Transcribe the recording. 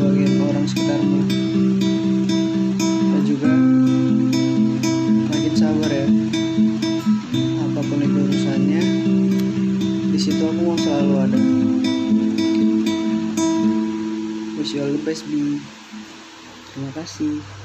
ngebahagiain orang sekitarmu. Dan juga makin sabar ya, apapun itu urusannya, di situ aku mau selalu ada. Wish you all the best, Bi. Terima kasih.